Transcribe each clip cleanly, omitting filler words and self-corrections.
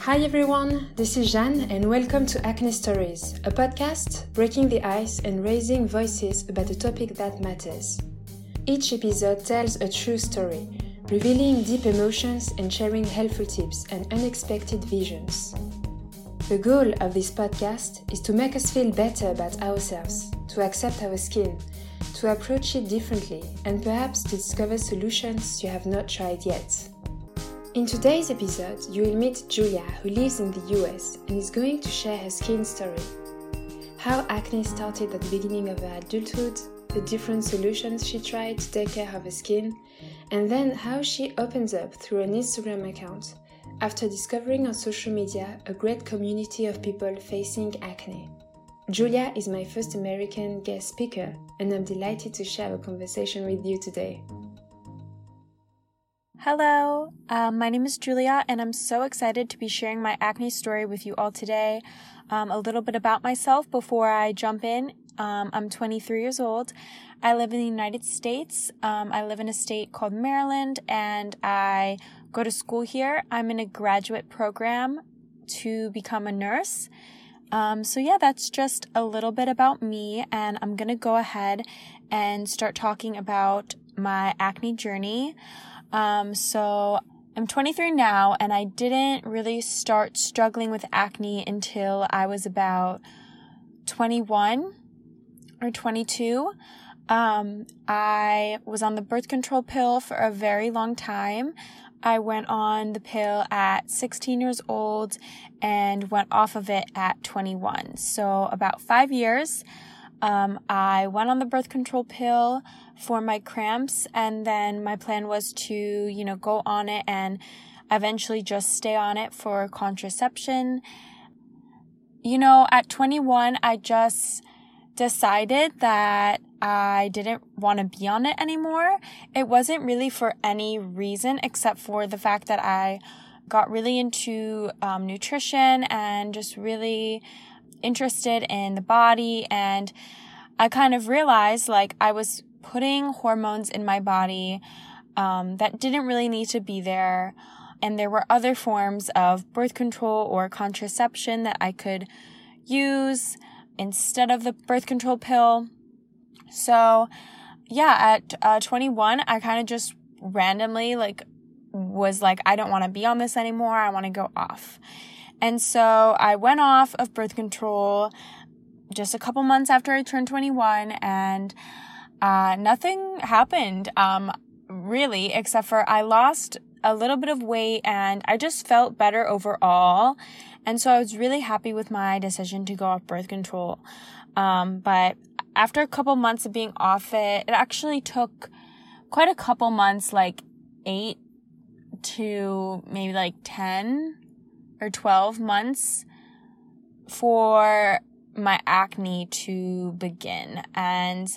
Hi everyone, this is Jeanne and welcome to Acne Stories, a podcast breaking the ice and raising voices about a topic that matters. Each episode tells a true story, revealing deep emotions and sharing helpful tips and unexpected visions. The goal of this podcast is to make us feel better about ourselves, to accept our skin, to approach it differently, and perhaps to discover solutions you have not tried yet. In today's episode, you will meet Julia, who lives in the US and is going to share her skin story. How acne started at the beginning of her adulthood, the different solutions she tried to take care of her skin, and then how she opens up through an Instagram account after discovering on social media a great community of people facing acne. Julia is my first American guest speaker, and I'm delighted to share a conversation with you today. Hello, my name is Julia, and I'm so excited to be sharing my acne story with you all today. A little bit about myself before I jump in. I'm 23 years old. I live in the United States. I live in a state called Maryland, and I go to school here. I'm in a graduate program to become a nurse. That's just a little bit about me, and I'm going to go ahead and start talking about my acne journey. So I'm 23 now, and I didn't really start struggling with acne until I was about 21 or 22. I was on the birth control pill for a very long time. I went on the pill at 16 years old and went off of it at 21. So about 5 years. I went on the birth control pill for my cramps, and then my plan was to, go on it and eventually just stay on it for contraception. At 21, I just decided that I didn't want to be on it anymore. It wasn't really for any reason except for the fact that I got really into nutrition and just really interested in the body, and I kind of realized I was putting hormones in my body that didn't really need to be there, and there were other forms of birth control or contraception that I could use instead of the birth control pill. So at 21, I kind of just randomly was I don't want to be on this anymore. I want to go off. And so I went off of birth control just a couple months after I turned 21, and nothing happened, really, except for I lost a little bit of weight and I just felt better overall. And so I was really happy with my decision to go off birth control. But after a couple months of being off it actually took quite a couple months, 8 to maybe 10 or 12 months for my acne to begin. And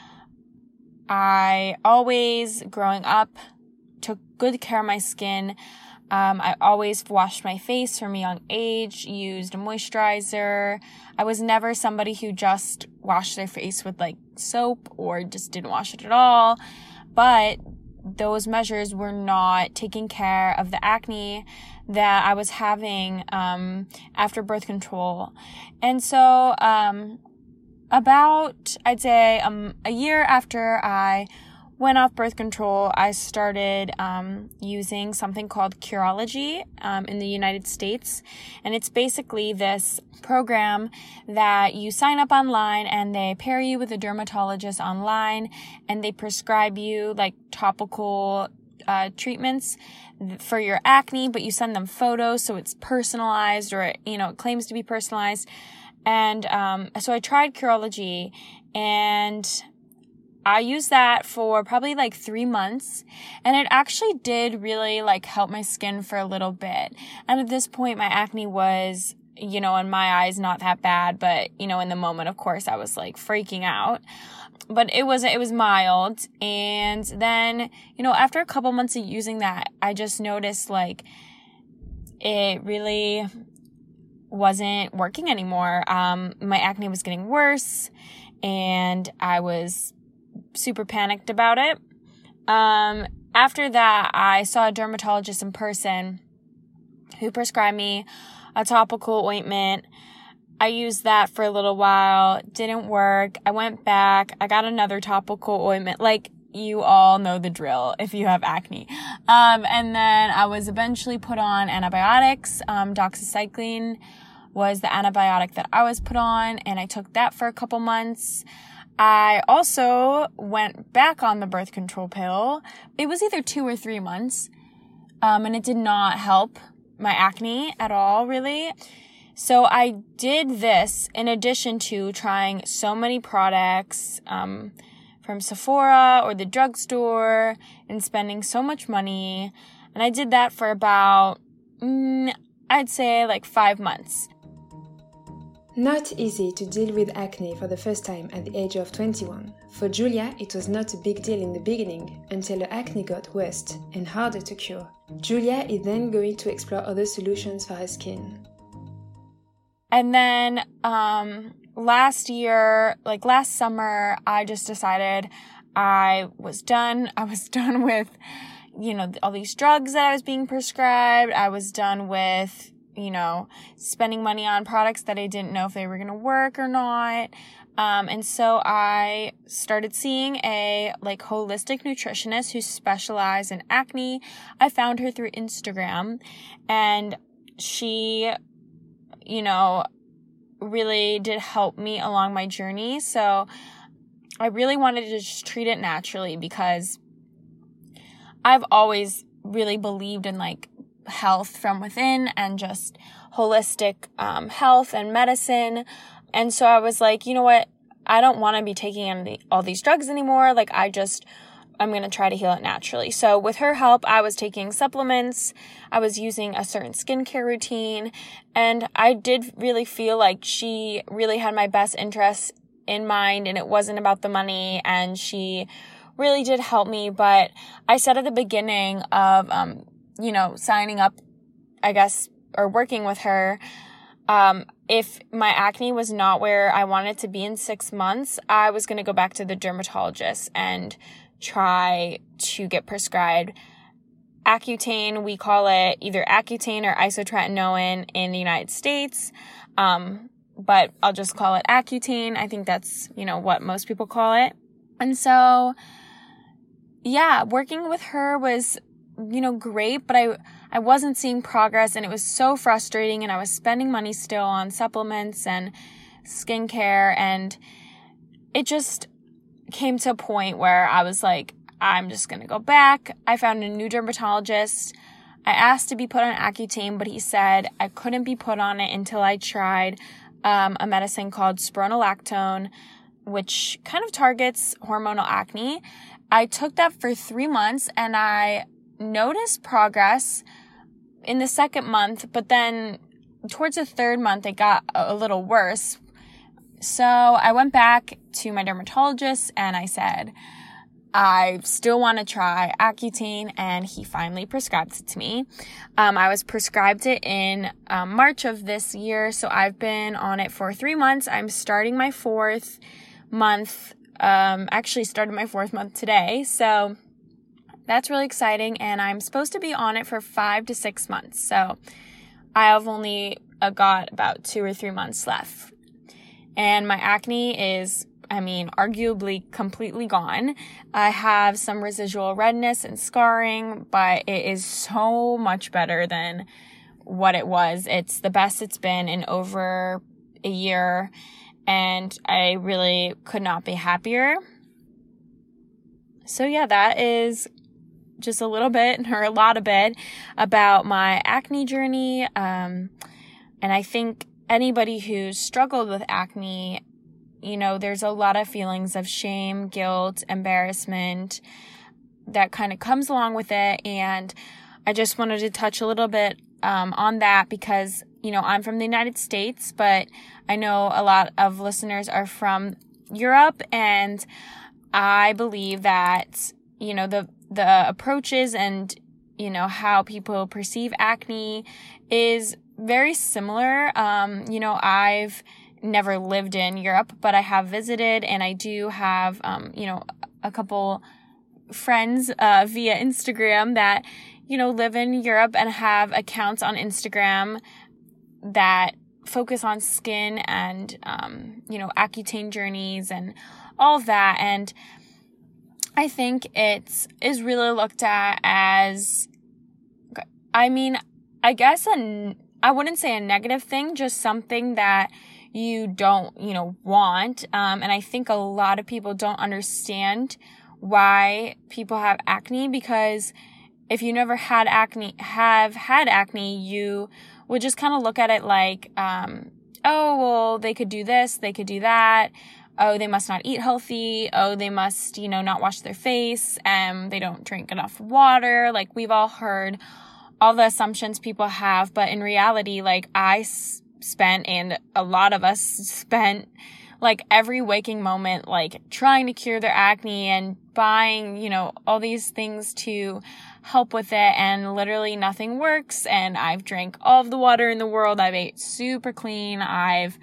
I always, growing up, took good care of my skin. I always washed my face from a young age, used a moisturizer. I was never somebody who just washed their face with soap or just didn't wash it at all. But those measures were not taking care of the acne that I was having after birth control. And so about, I'd say, a year after I went off birth control, I started using something called Curology in the United States. And it's basically this program that you sign up online and they pair you with a dermatologist online, and they prescribe you topical treatments for your acne, but you send them photos so it's personalized, or it claims to be personalized. And so I tried Curology, and I used that for probably 3 months, and it actually did really help my skin for a little bit. And at this point, my acne was, in my eyes, not that bad, but in the moment, of course, I was freaking out. But it was mild. And then, after a couple months of using that, I just noticed it really wasn't working anymore. My acne was getting worse, and I was super panicked about it. After that, I saw a dermatologist in person, who prescribed me a topical ointment. I used that for a little while. Didn't work. I went back. I got another topical ointment. Like, you all know the drill if you have acne. And then I was eventually put on antibiotics. Doxycycline was the antibiotic that I was put on, and I took that for a couple months. I also went back on the birth control pill. It was either 2 or 3 months, and it did not help my acne at all, really. So I did this in addition to trying so many products, from Sephora or the drugstore, and spending so much money. And I did that for about, I'd say like 5 months. Not easy to deal with acne for the first time at the age of 21. For Julia, it was not a big deal in the beginning until her acne got worse and harder to cure. Julia is then going to explore other solutions for her skin. And then, last summer, I just decided I was done. I was done with, all these drugs that I was being prescribed. I was done with, spending money on products that I didn't know if they were going to work or not. And so I started seeing a holistic nutritionist who specialized in acne. I found her through Instagram, and she, really did help me along my journey. So I really wanted to just treat it naturally, because I've always really believed in health from within and just holistic health and medicine. And so I was like, you know what? I don't want to be taking all these drugs anymore. I'm going to try to heal it naturally. So with her help, I was taking supplements. I was using a certain skincare routine. And I did really feel like she really had my best interests in mind, and it wasn't about the money. And she really did help me. But I said at the beginning of, signing up, I guess, or working with her, if my acne was not where I wanted it to be in 6 months, I was going to go back to the dermatologist and try to get prescribed Accutane. We call it either Accutane or isotretinoin in the United States. But I'll just call it Accutane. I think that's, what most people call it. And so, yeah, working with her was, great, but I wasn't seeing progress, and it was so frustrating, and I was spending money still on supplements and skincare, and it just came to a point where I was like, I'm just going to go back. I found a new dermatologist. I asked to be put on Accutane, but he said I couldn't be put on it until I tried a medicine called spironolactone, which kind of targets hormonal acne. I took that for 3 months, and I noticed progress in the second month, but then towards the third month, it got a little worse. So I went back to my dermatologist and I said, I still want to try Accutane, and he finally prescribed it to me. I was prescribed it in March of this year, so I've been on it for 3 months. I'm starting my 4th month, actually started my 4th month today, so that's really exciting, and I'm supposed to be on it for 5 to 6 months, so I have only got about 2 or 3 months left. And my acne is, arguably completely gone. I have some residual redness and scarring, but it is so much better than what it was. It's the best it's been in over a year, and I really could not be happier. So yeah, that is just a little bit, or a lot of it, about my acne journey. And I think anybody who's struggled with acne, there's a lot of feelings of shame, guilt, embarrassment that kind of comes along with it. And I just wanted to touch a little bit on that because, I'm from the United States, but I know a lot of listeners are from Europe, and I believe that, the approaches and, how people perceive acne is very similar. I've never lived in Europe, but I have visited, and I do have, a couple friends via Instagram that, live in Europe and have accounts on Instagram that focus on skin and, Accutane journeys and all of that. And I think it is really looked at as, I guess I wouldn't say a negative thing, just something that you don't, want. And I think a lot of people don't understand why people have acne, because if you never had acne, you would just kind of look at it like, oh, well, they could do this, they could do that. Oh, they must not eat healthy. Oh, they must, not wash their face. They don't drink enough water. Like, we've all heard all the assumptions people have. But in reality, like, I spent, and a lot of us spent, like, every waking moment, like, trying to cure their acne and buying, all these things to help with it, and literally nothing works. And I've drank all of the water in the world. I've ate super clean. I've,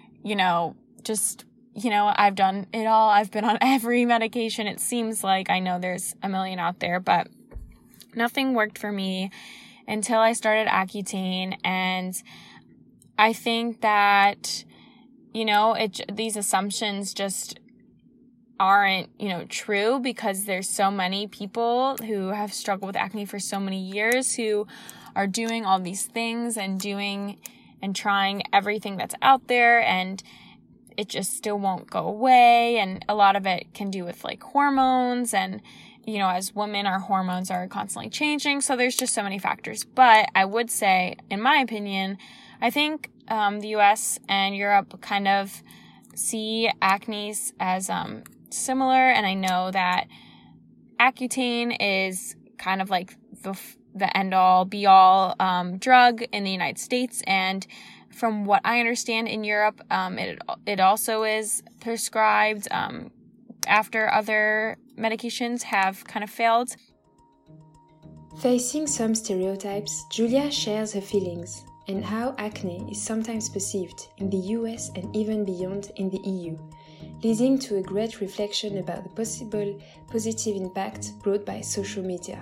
I've done it all. I've been on every medication. It seems like, I know there's a million out there, but nothing worked for me until I started Accutane. And I think that, these assumptions just aren't, true, because there's so many people who have struggled with acne for so many years who are doing all these things and doing and trying everything that's out there, and it just still won't go away. And a lot of it can do with like hormones, and, as women, our hormones are constantly changing. So there's just so many factors. But I would say, in my opinion, I think the US and Europe kind of see acne as similar. And I know that Accutane is kind of like the end-all, be-all drug in the United States. And from what I understand, in Europe, it also is prescribed after other medications have kind of failed. Facing some stereotypes, Julia shares her feelings and how acne is sometimes perceived in the US and even beyond in the EU, leading to a great reflection about the possible positive impact brought by social media.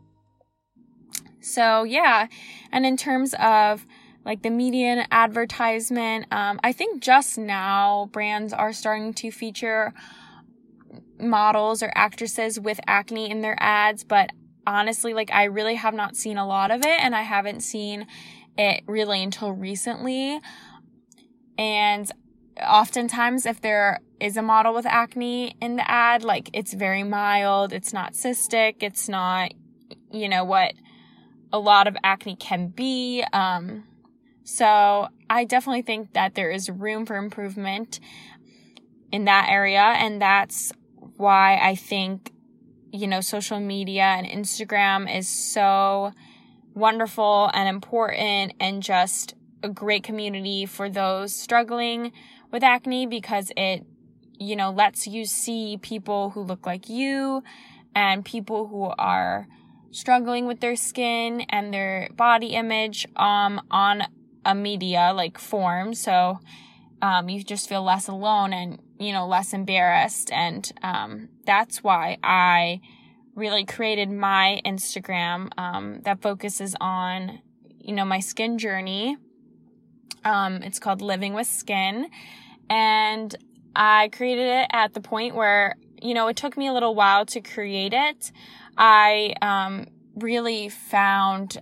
So yeah, and in terms of like the media and advertisement, I think just now brands are starting to feature models or actresses with acne in their ads, but honestly, like, I really have not seen a lot of it, and I haven't seen it really until recently. And oftentimes, if there is a model with acne in the ad, like, it's very mild, it's not cystic, it's not, what a lot of acne can be. So I definitely think that there is room for improvement in that area, and that's why I think, social media and Instagram is so wonderful and important, and just a great community for those struggling with acne, because it, lets you see people who look like you and people who are struggling with their skin and their body image on a media like form. So you just feel less alone and, less embarrassed. And that's why I really created my Instagram that focuses on, my skin journey. It's called Living with Skin. And I created it at the point where, it took me a little while to create it. I really found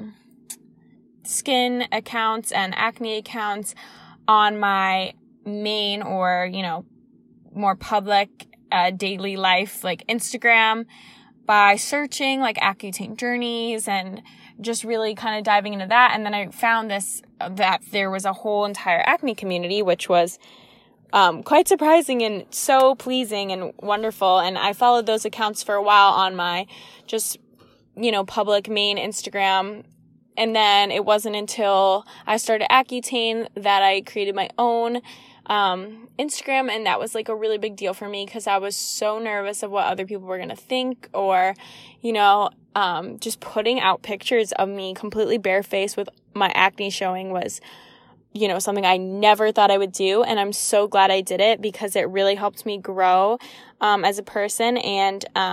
skin accounts and acne accounts on my main or, more public daily life, like Instagram, by searching like Accutane journeys and just really kind of diving into that. And then I found that there was a whole entire acne community, which was quite surprising and so pleasing and wonderful. And I followed those accounts for a while on my just, public main Instagram. And then it wasn't until I started Accutane that I created my own Instagram, and that was like a really big deal for me because I was so nervous of what other people were going to think, or, just putting out pictures of me completely barefaced with my acne showing was, something I never thought I would do. And I'm so glad I did it because it really helped me grow as a person. And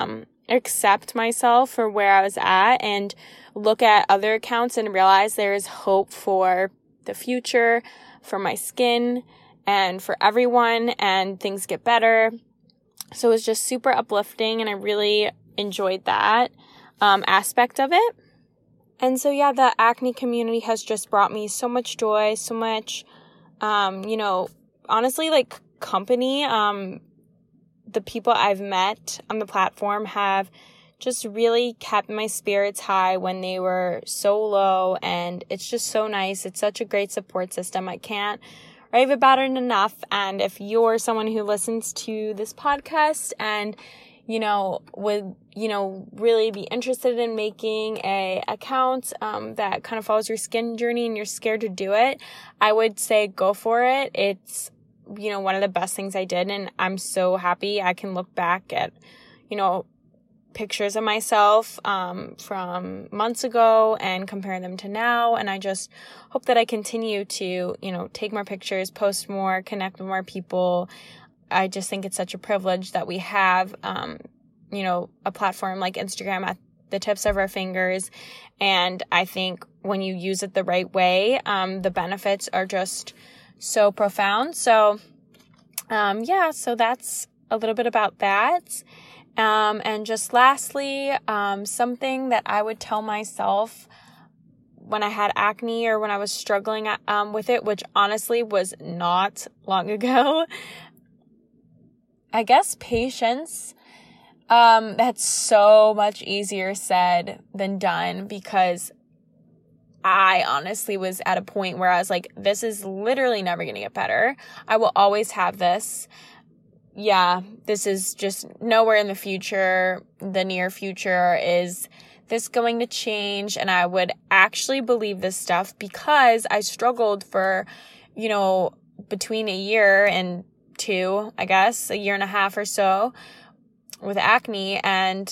accept myself for where I was at and look at other accounts and realize there is hope for the future, for my skin, and for everyone, and things get better. So it was just super uplifting, and I really enjoyed that aspect of it. And so, yeah, the acne community has just brought me so much joy, so much, honestly, like, company. The people I've met on the platform have just really kept my spirits high when they were so low, and it's just so nice. It's such a great support system. I can't rave about it enough. And if you're someone who listens to this podcast and, would, really be interested in making a account that kind of follows your skin journey and you're scared to do it, I would say go for it. It's, one of the best things I did, and I'm so happy I can look back at, pictures of myself from months ago and compare them to now. And I just hope that I continue to, take more pictures, post more, connect with more people. I just think it's such a privilege that we have, a platform like Instagram at the tips of our fingers. And I think when you use it the right way, the benefits are just so profound. So, so that's a little bit about that. And just lastly, something that I would tell myself when I had acne or when I was struggling with it, which honestly was not long ago, I guess patience. That's so much easier said than done, because I honestly was at a point where I was like, this is literally never going to get better. I will always have this. Yeah, this is just nowhere in the future, the near future. Is this going to change? And I would actually believe this stuff because I struggled for, between a year and two, I guess, a year and a half or so with acne. And,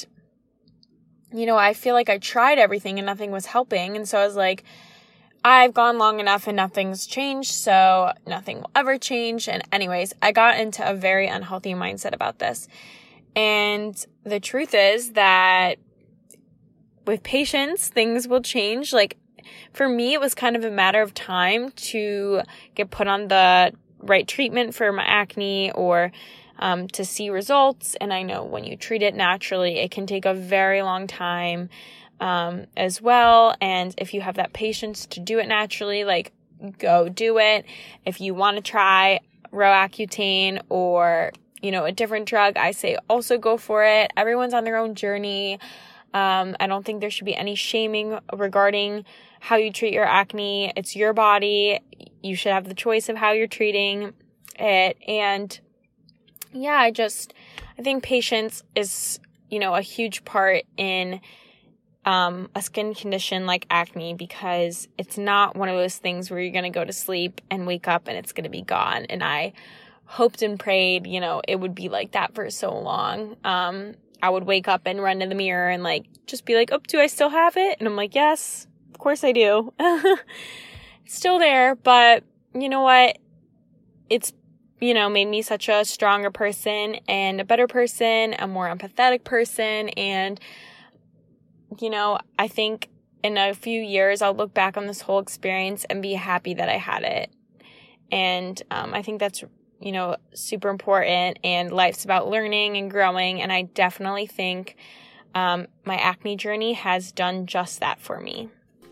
I feel like I tried everything and nothing was helping. And so I was like, I've gone long enough and nothing's changed, so nothing will ever change. And anyways, I got into a very unhealthy mindset about this. And the truth is that with patience, things will change. Like, for me, it was kind of a matter of time to get put on the right treatment for my acne or to see results. And I know when you treat it naturally, it can take a very long time as well. And if you have that patience to do it naturally, like, go do it. If you want to try Roaccutane or, a different drug, I say also go for it. Everyone's on their own journey. I don't think there should be any shaming regarding how you treat your acne. It's your body. You should have the choice of how you're treating it. And yeah, I think patience is, a huge part in a skin condition like acne, because it's not one of those things where you're going to go to sleep and wake up and it's going to be gone. And I hoped and prayed, it would be like that for so long. I would wake up and run to the mirror and just be like, oh, do I still have it? And I'm like, yes, of course I do. It's still there, but you know what? It's, made me such a stronger person and a better person, a more empathetic person. And I think in a few years, I'll look back on this whole experience and be happy that I had it. And I think that's, super important. And life's about learning and growing. And I definitely think my acne journey has done just that for me.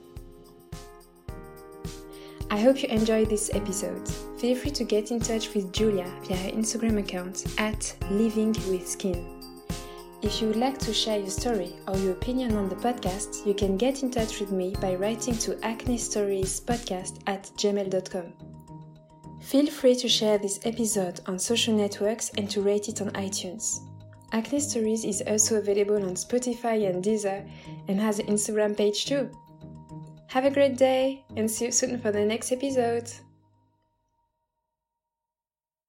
I hope you enjoyed this episode. Feel free to get in touch with Julia via her Instagram account @livingwithskin. If you would like to share your story or your opinion on the podcast, you can get in touch with me by writing to acnestoriespodcast@gmail.com. Feel free to share this episode on social networks and to rate it on iTunes. Acne Stories is also available on Spotify and Deezer and has an Instagram page too. Have a great day and see you soon for the next episode.